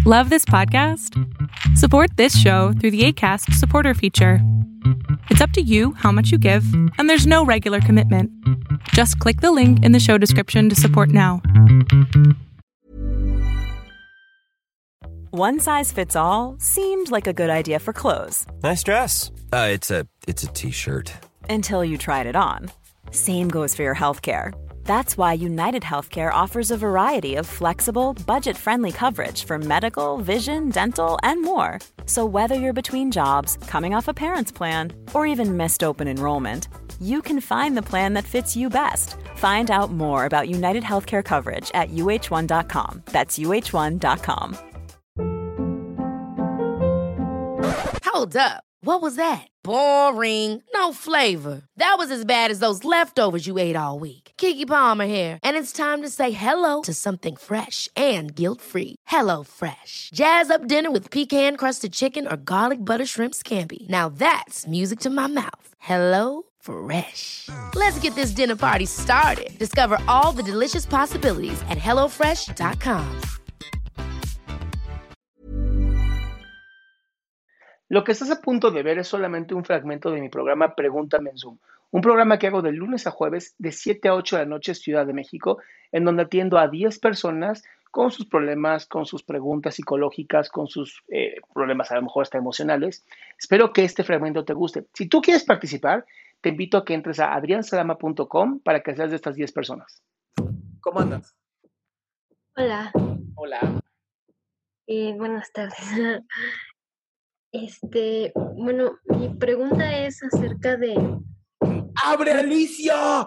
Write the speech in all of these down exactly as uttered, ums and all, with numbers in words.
Love this podcast? Support this show through the Acast supporter feature. It's up to you how much you give, and there's no regular commitment. Just click the link in the show description to support now. One size fits all seemed like a good idea for clothes. Nice dress. Uh, it's a it's a t-shirt. Until you tried it on. Same goes for your healthcare. That's why United Healthcare offers a variety of flexible, budget-friendly coverage for medical, vision, dental, and more. So whether you're between jobs, coming off a parent's plan, or even missed open enrollment, you can find the plan that fits you best. Find out more about United Healthcare coverage at U H one dot com. That's U H one dot com. Hold up. What was that? Boring. No flavor. That was as bad as those leftovers you ate all week. Keke Palmer here, and it's time to say hello to something fresh and guilt-free. Hello Fresh. Jazz up dinner with pecan-crusted chicken or garlic butter shrimp scampi. Now that's music to my mouth. Hello Fresh. Let's get this dinner party started. Discover all the delicious possibilities at hello fresh dot com. Lo que estás a punto de ver es solamente un fragmento de mi programa Pregúntame en Zoom, un programa que hago de lunes a jueves de siete a ocho de la noche Ciudad de México, en donde atiendo a diez personas con sus problemas, con sus preguntas psicológicas, con sus eh, problemas a lo mejor hasta emocionales. Espero que este fragmento te guste. Si tú quieres participar, te invito a que entres a adrian salama punto com para que seas de estas diez personas. ¿Cómo andas? Hola, Hola. eh, buenas tardes. Este, bueno, mi pregunta es acerca de... ¡Abre, Alicia!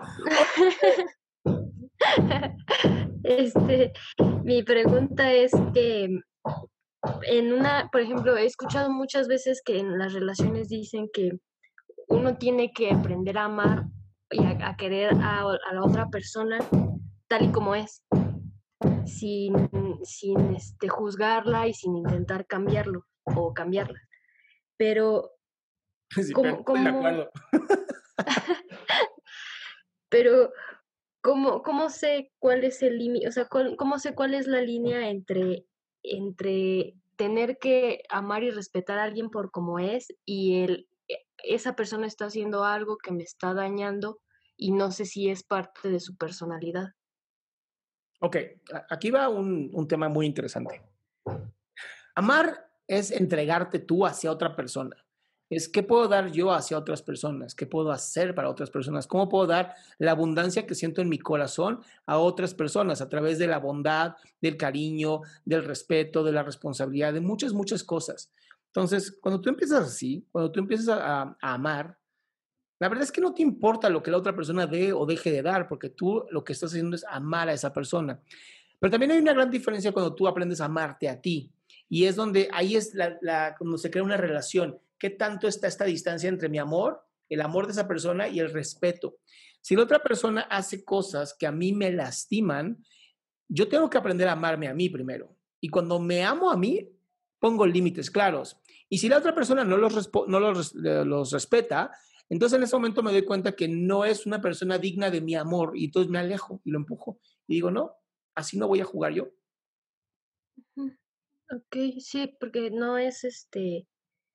Este, mi pregunta es que en una, por ejemplo, he escuchado muchas veces que en las relaciones dicen que uno tiene que aprender a amar y a, a querer a, a la otra persona tal y como es, sin, sin este, juzgarla y sin intentar cambiarlo o cambiarla. Pero, Sí, ¿cómo, pero estoy cómo- de acuerdo. pero ¿cómo, cómo sé cuál es el límite? O sea, cuál- ¿cómo sé cuál es la línea entre, entre tener que amar y respetar a alguien por como es y el, e- esa persona está haciendo algo que me está dañando y no sé si es parte de su personalidad? Ok, a- aquí va un, un tema muy interesante. Amar es entregarte tú hacia otra persona. Es qué puedo dar yo hacia otras personas, qué puedo hacer para otras personas, cómo puedo dar la abundancia que siento en mi corazón a otras personas a través de la bondad, del cariño, del respeto, de la responsabilidad, de muchas, muchas cosas. Entonces, cuando tú empiezas así, cuando tú empiezas a, a- a amar, la verdad es que no te importa lo que la otra persona dé o deje de dar, porque tú lo que estás haciendo es amar a esa persona. Pero también hay una gran diferencia cuando tú aprendes a amarte a ti. Y es donde ahí es la, la, cuando se crea una relación. ¿Qué tanto está esta distancia entre mi amor, el amor de esa persona y el respeto? Si la otra persona hace cosas que a mí me lastiman, yo tengo que aprender a amarme a mí primero. Y cuando me amo a mí, pongo límites claros. Y si la otra persona no los, respo- no los, los respeta, entonces en ese momento me doy cuenta que no es una persona digna de mi amor y entonces me alejo y lo empujo. Y digo, no, así no voy a jugar yo. Mm, Ok, sí, porque no es este,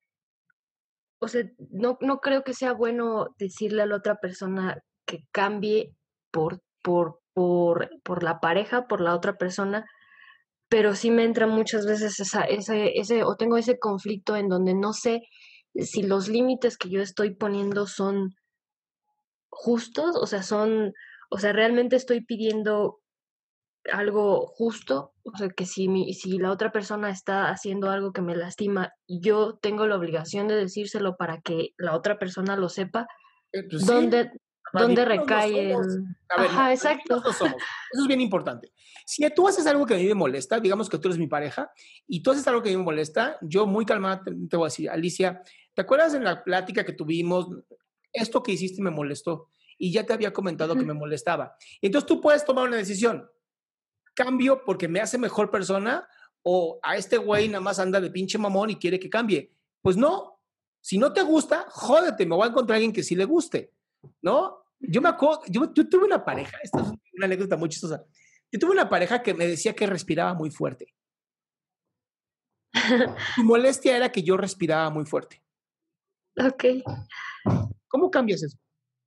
o sea, no, no creo que sea bueno decirle a la otra persona que cambie por, por, por, por la pareja, por la otra persona, pero sí me entra muchas veces esa, ese, ese, o tengo ese conflicto en donde no sé si los límites que yo estoy poniendo son justos, o sea, son, o sea, realmente estoy pidiendo algo justo, o sea, que si mi, si la otra persona está haciendo algo que me lastima, yo tengo la obligación de decírselo para que la otra persona lo sepa, Eh, pues sí, ¿dónde, dónde adivinos no recae somos. el... A ver, no, Ajá, exacto. adivinos no somos. Eso es bien importante. Si tú haces algo que a mí me molesta, digamos que tú eres mi pareja, y tú haces algo que a mí me molesta, yo muy calmada te, te voy a decir, Alicia, ¿te acuerdas en la plática que tuvimos? Esto que hiciste me molestó, y ya te había comentado que me molestaba. Y entonces tú puedes tomar una decisión. Cambio porque me hace mejor persona, o a este güey nada más anda de pinche mamón y quiere que cambie. Pues no, si no te gusta, jódete, me voy a encontrar a alguien que sí le guste, ¿no? Yo me acuerdo, yo, yo tuve una pareja, esta es una anécdota muy chistosa. Yo tuve una pareja que me decía que respiraba muy fuerte. Tu molestia era que yo respiraba muy fuerte. Ok. ¿Cómo cambias eso?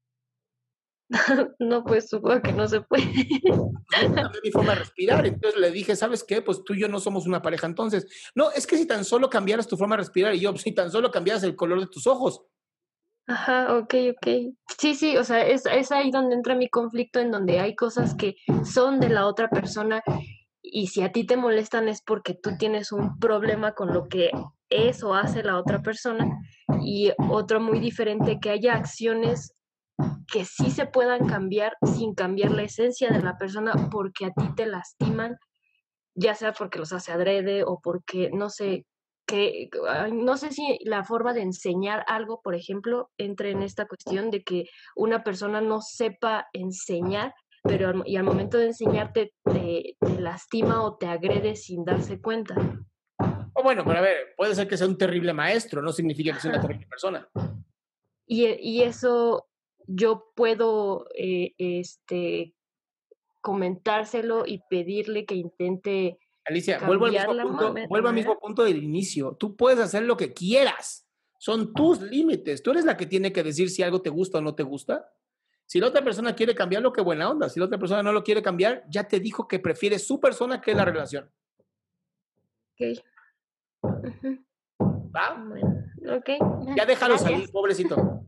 No, pues supongo que no se puede. Cambié mi forma de respirar. Entonces le dije, ¿sabes qué? Pues tú y yo no somos una pareja entonces. No, es que si tan solo cambiaras tu forma de respirar y yo, si tan solo cambiaras el color de tus ojos. Ajá, ok, ok. Sí, sí, o sea, es, es ahí donde entra mi conflicto, en donde hay cosas que son de la otra persona y si a ti te molestan es porque tú tienes un problema con lo que es o hace la otra persona, y otro muy diferente, que haya acciones que sí se puedan cambiar sin cambiar la esencia de la persona porque a ti te lastiman, ya sea porque los hace adrede o porque, no sé, que no sé si la forma de enseñar algo, por ejemplo, entre en esta cuestión de que una persona no sepa enseñar, pero al, y al momento de enseñarte te, te lastima o te agrede sin darse cuenta. O bueno, pero a ver, puede ser que sea un terrible maestro, no significa que sea una terrible persona. Y, y eso yo puedo eh, este, comentárselo y pedirle que intente. Alicia, vuelvo al mismo punto, vuelvo al mismo punto del inicio. Tú puedes hacer lo que quieras. Son tus límites. Tú eres la que tiene que decir si algo te gusta o no te gusta. Si la otra persona quiere cambiarlo, qué buena onda. Si la otra persona no lo quiere cambiar, ya te dijo que prefiere su persona que la relación. Ok. Uh-huh. ¿Va? Bueno, ok. Ya déjalo gracias. Salir, pobrecito.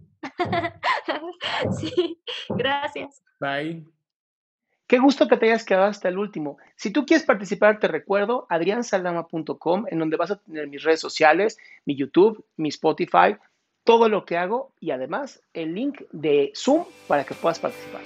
Sí, gracias. Bye. Qué gusto que te hayas quedado hasta el último. Si tú quieres participar, te recuerdo adrián saldama punto com, en donde vas a tener mis redes sociales, mi YouTube, mi Spotify, todo lo que hago y además el link de Zoom para que puedas participar.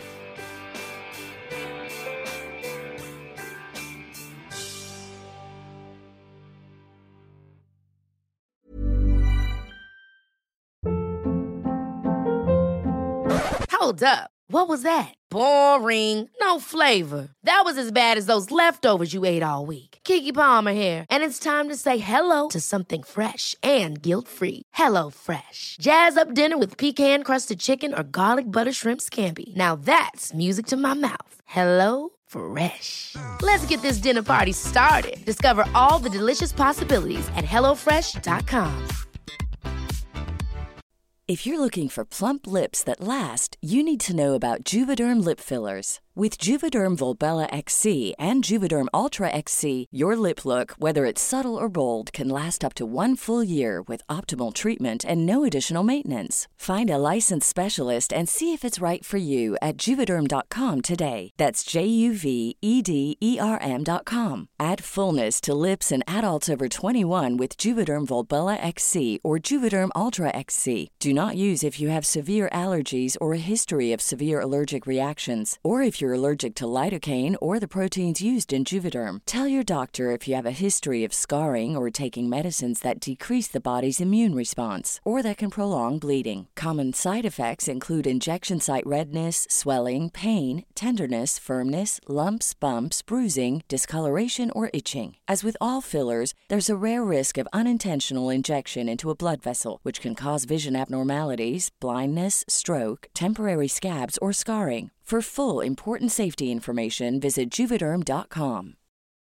Hold up. What was that? Boring. No flavor. That was as bad as those leftovers you ate all week. Keke Palmer here, and it's time to say hello to something fresh and guilt-free. Hello Fresh. Jazz up dinner with pecan-crusted chicken or garlic butter shrimp scampi. Now that's music to my mouth. Hello Fresh. Let's get this dinner party started. Discover all the delicious possibilities at hello fresh dot com. If you're looking for plump lips that last, you need to know about Juvederm lip fillers. With Juvederm Volbella X C and Juvederm Ultra X C, your lip look, whether it's subtle or bold, can last up to one full year with optimal treatment and no additional maintenance. Find a licensed specialist and see if it's right for you at Juvederm dot com today. That's J U V E D E R M dot com. Add fullness to lips in adults over twenty-one with Juvederm Volbella X C or Juvederm Ultra X C. Do not use if you have severe allergies or a history of severe allergic reactions, or if you're allergic to lidocaine or the proteins used in Juvederm. Tell your doctor if you have a history of scarring or taking medicines that decrease the body's immune response or that can prolong bleeding. Common side effects include injection site redness, swelling, pain, tenderness, firmness, lumps, bumps, bruising, discoloration, or itching. As with all fillers, there's a rare risk of unintentional injection into a blood vessel, which can cause vision abnormalities, blindness, stroke, temporary scabs, or scarring. For full, important safety information, visit Juvederm dot com.